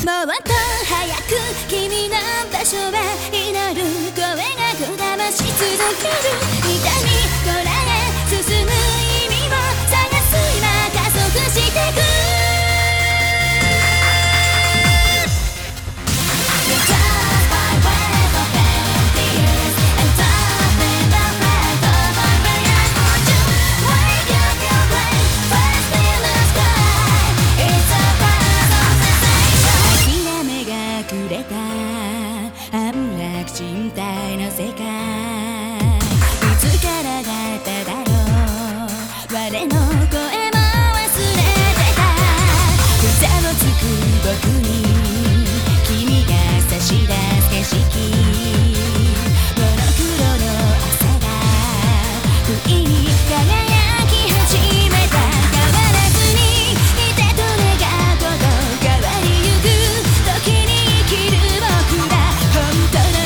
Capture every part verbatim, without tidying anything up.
っと早く君の場所へ祈る声がこだまし続ける痛みこらえ進む意味を探す今加速してく身体の世界いつからだっただろう我の声も忘れてたざわつく僕に君が差し出す景色モノクロの朝が不意に輝き始めた変わらずにいてと願うこと変わりゆく時に生きる僕ら本当の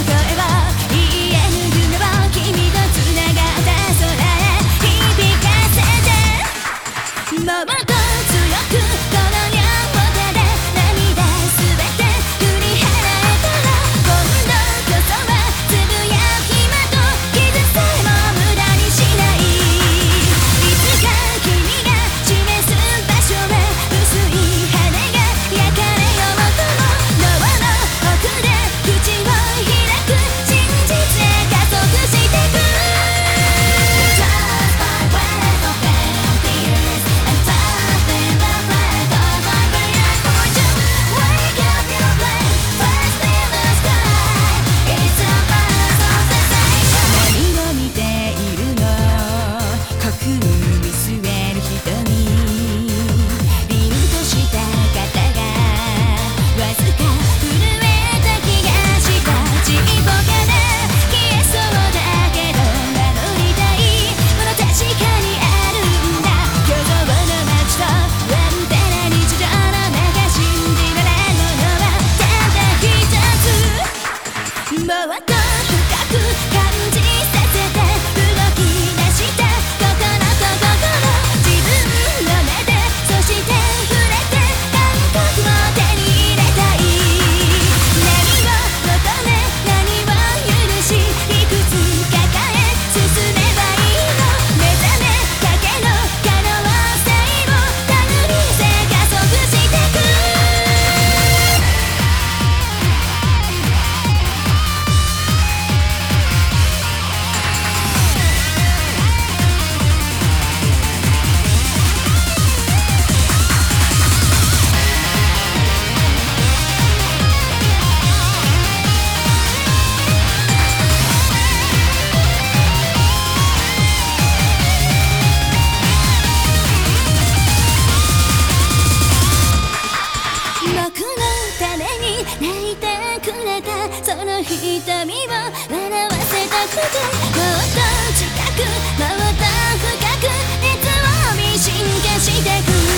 もっと強くこの両手で涙すべて振り払えたら今度こそはつぶやく暇と傷さえも無駄にしないいつか君が示す場所へ薄い羽が焼かれようとも脳の奥で口を開く真実へ加速してく泣いてくれたその瞳を笑わせたくてもっと近くもっと深く熱を見進化してく